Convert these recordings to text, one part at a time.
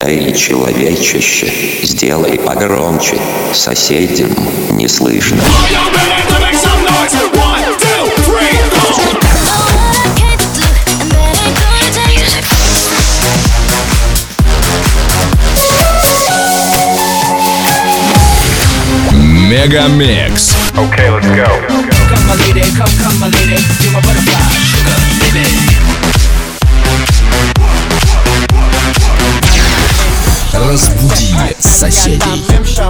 Эй, человечище, сделай погромче, соседям не слышно. Мегамикс. Okay, let's go. Come my lady, come my lady, you're my butterfly, sugar, baby. Разбуди соседей.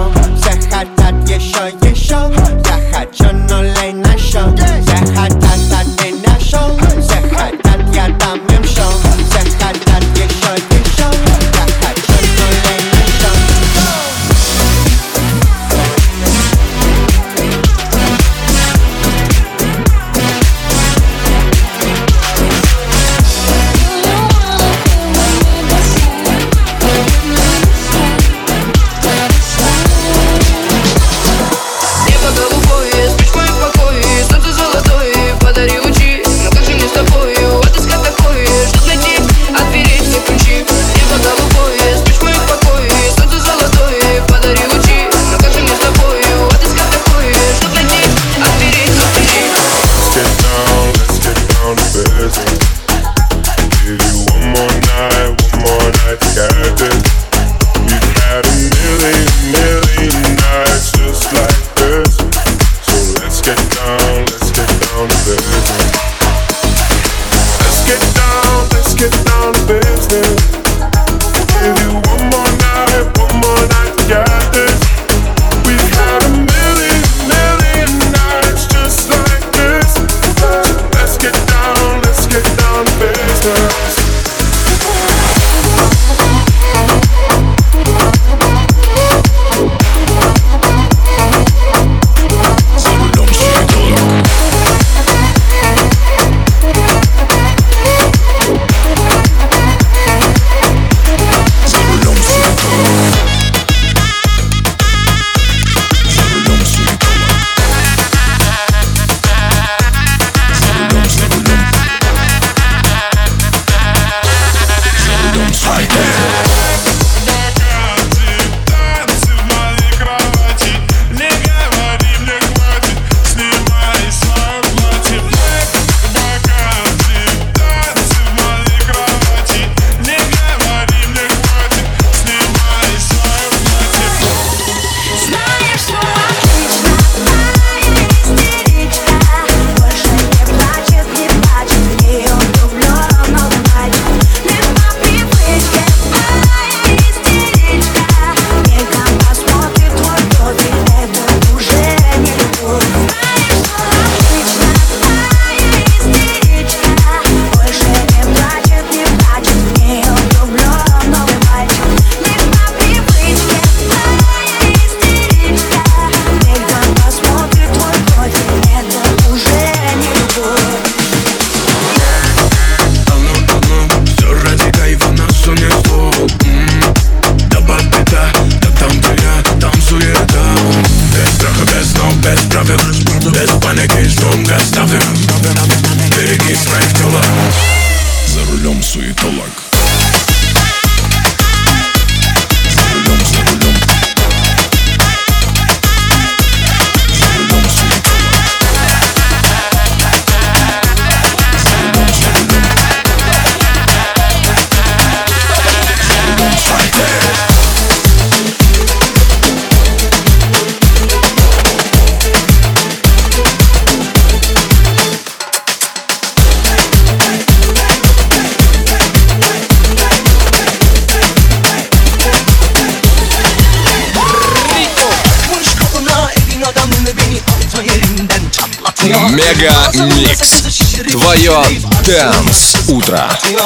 Мегамикс. Твое Dance утро.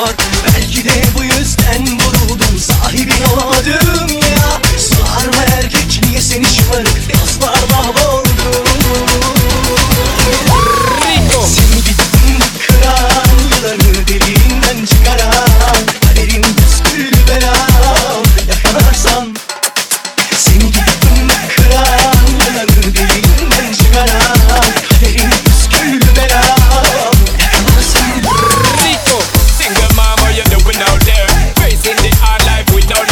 Belki de bu yüzden vuruldum, sahibin olamadım ya. Sarma erkek, niye seni şımarık yaslar mahvoldum. Seni gittin kıran, yılanı deliğinden çıkaran, kaderim püskül belam yakalarsan. Seni gittin kıran, yılanı deliğinden çıkaran, kaderim püskül belam yakalarsan. Single mama, you doing out there, facing the hard life with no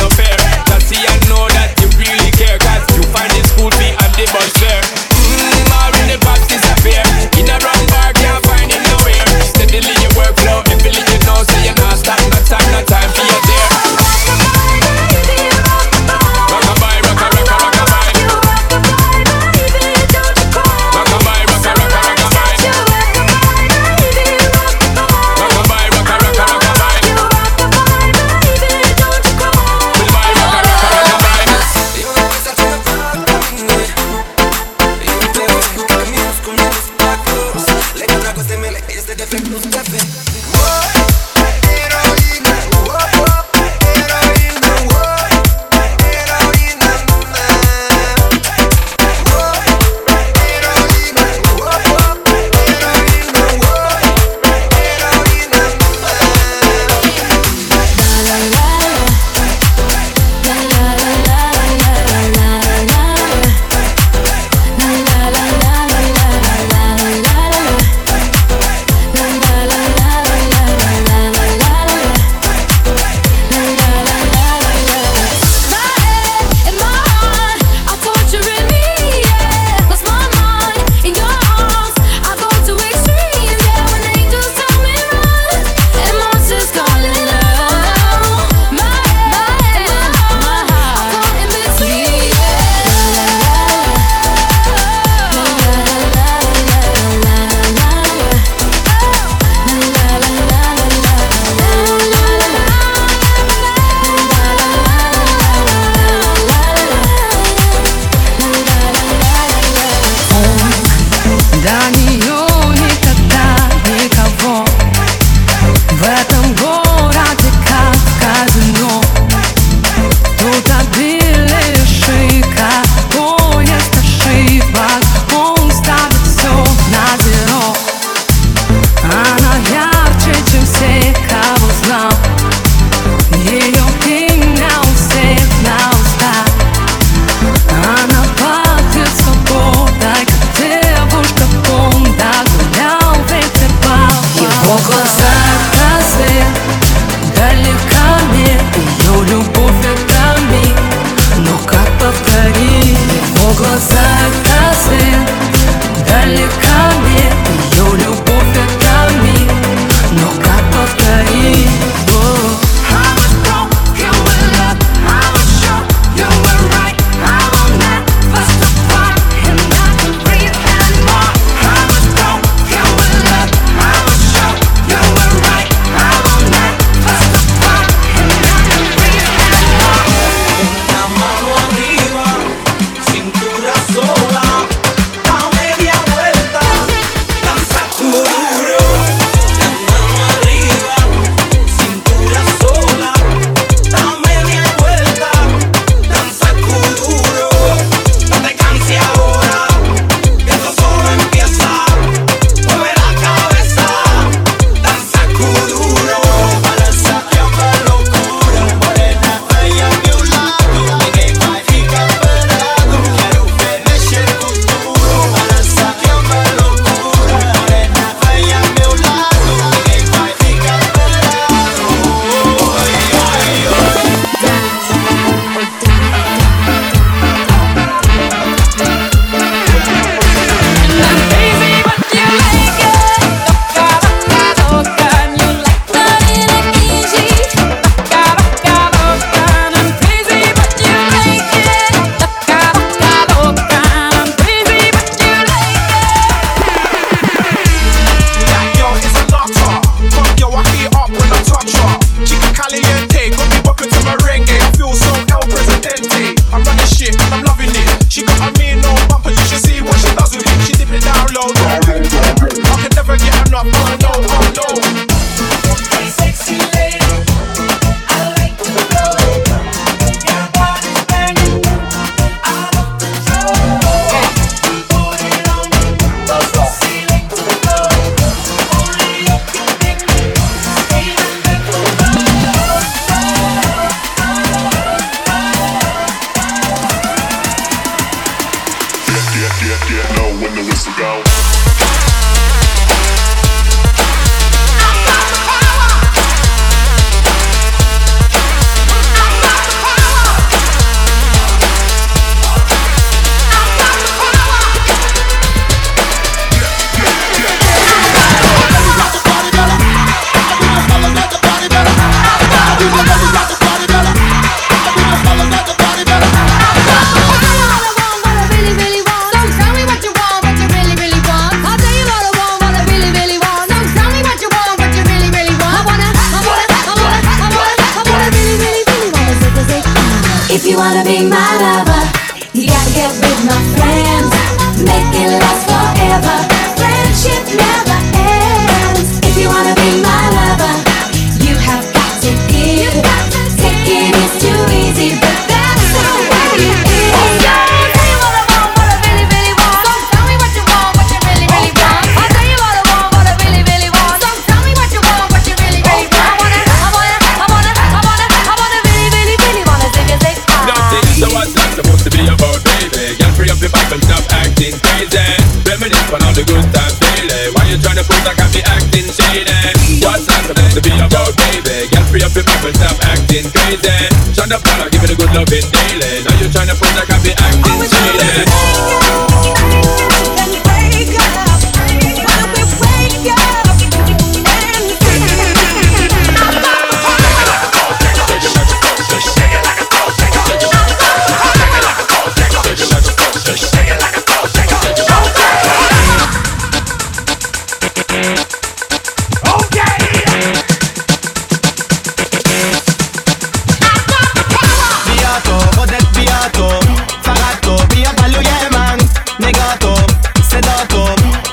Sedato,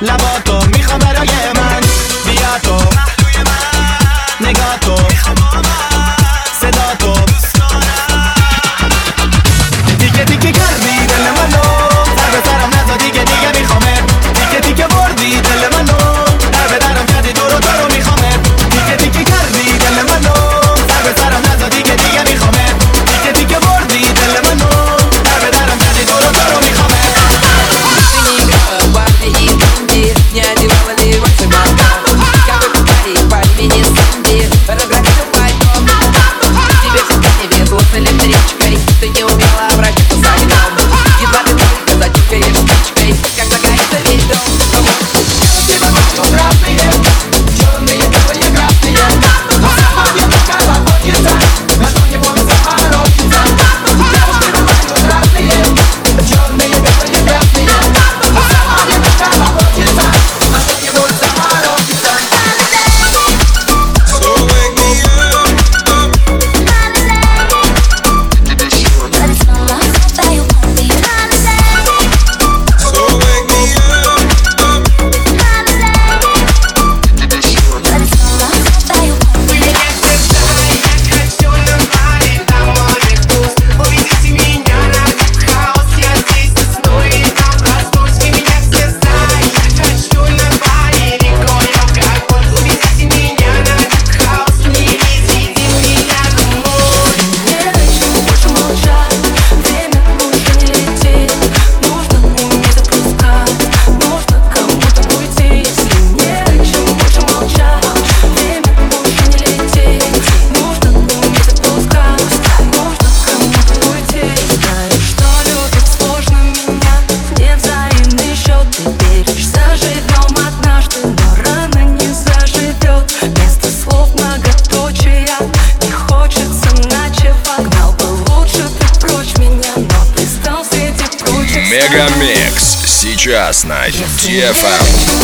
Мегамикс сейчас на DFM.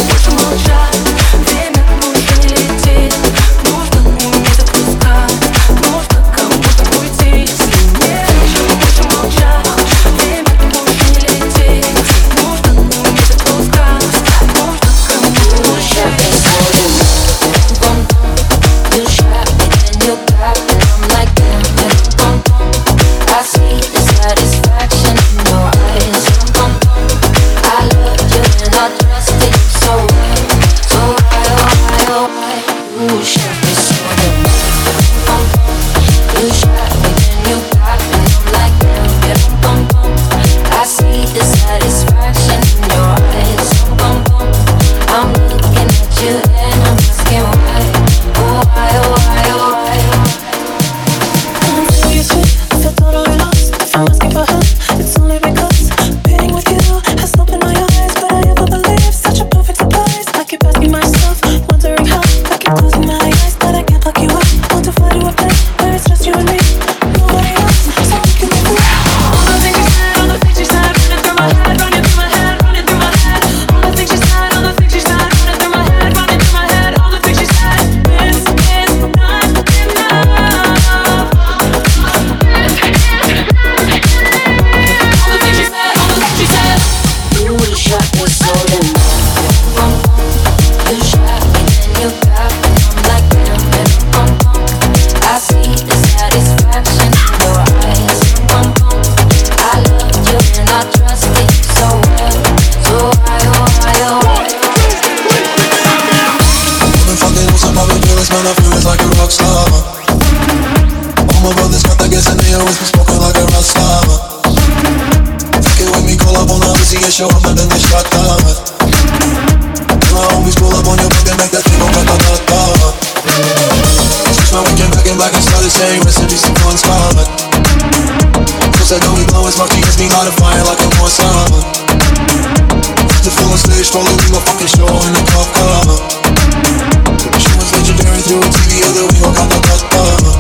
Show up and then they shut down. My homies pull up on your block and make that thing go ta-ta-ta-ta. Switch my weekend back in black and start the same recipe, some fun spot. Cause I know we blowin' smoke, GS me light a fire like a more summer. The full on stage, following my fucking show in the top cover. She was legendary through a TV, other we go ta-ta-ta-ta.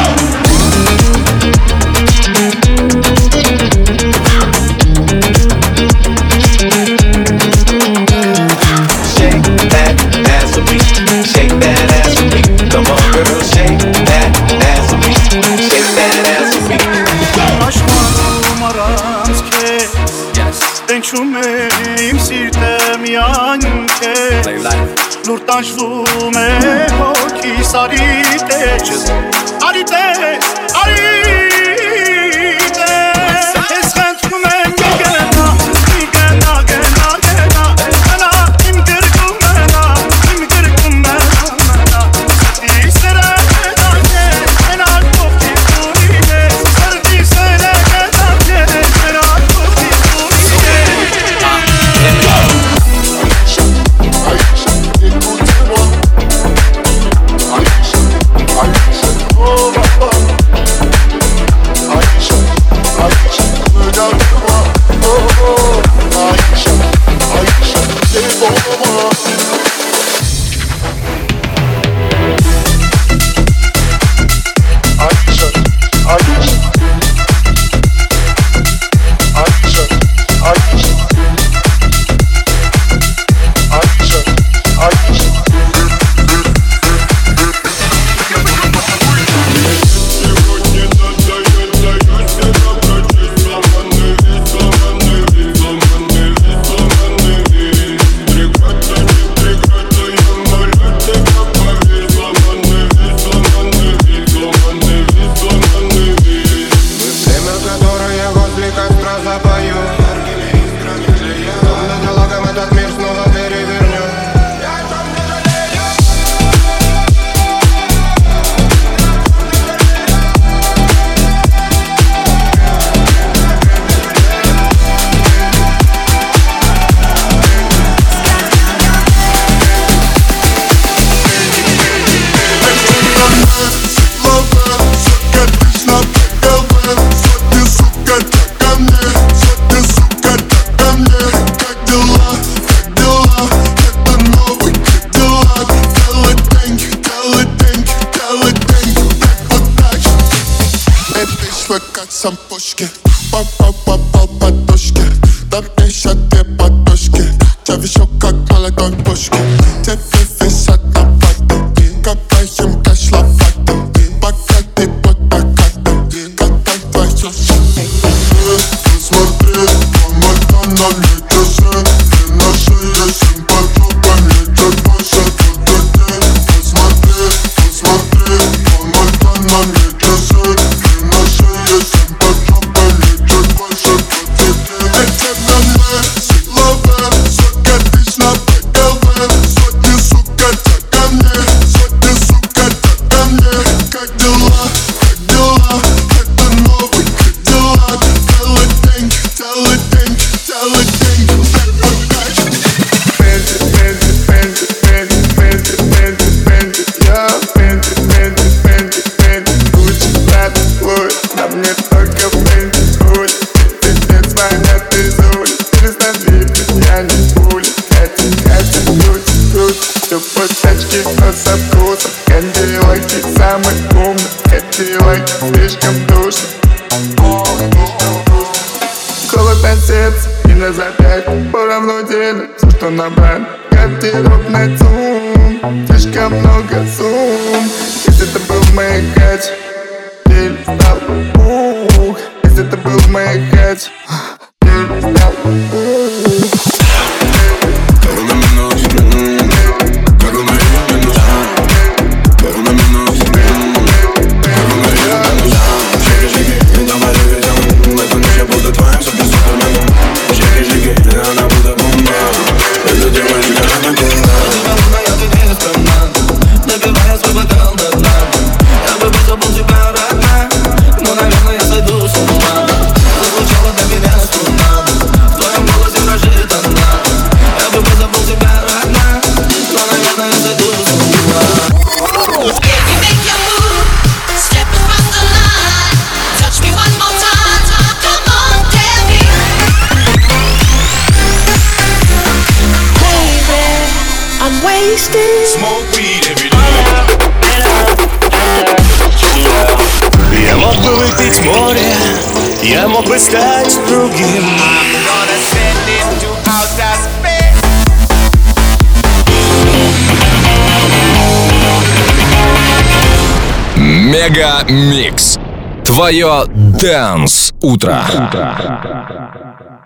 Lur taşvum e hoki sarite Arite, arite Esken tkumen gena, gena, gena, gena Gena imkir kumena, imkir kumena İstere gedake, gena koki kurine Serdi sene gedake, gena koki kurine Сам пушки, пап-пап-пап-пап-подушки Дай мне еще две подушки. Чавишу как молодой Пушкин. Тебе висят на пати. Копаем кэш лопатой. Богатый будто коты. Катай твою жизнь. Посмотри, помогай нам не часы. И на шее симпатюка не чуть больше туды. Посмотри, помогай нам не часы. И на шее симпатюка не чуть больше туды. Эти дамы силовые, сука, тысяч на ПГВ. Сотни, сука, так ко мне, сотни, сука, так ко мне. Как дела, как дела? Это новый Кадиллак. Целый день, целый день, целый день. Бензи, Бензи, Бензи, Бензи, Бензи, Бензи, Бензи. Я Бензи, Бензи, Бензи, Бензи. Гуччи, Прада, Луис. На мне только Бензи будет. Пиздец, звонят из улиц. Перестань липнуть, я не пуля. Катя, Катя, круть, круть. Все по тачке, но со вкусом. Кадиллаки самый умный. Кадиллаки слишком душный. Холод на сердце и на запястье. Поравну делю все, что набрали. Гардеробный зум. Слишком много сумм. Если это был маякач, дель стал ух. Если это был маякач, дель стал ух. Smoke weed every day. Я мог бы выпить море, я мог бы стать другим. Мега Микс. Твое Dance утро.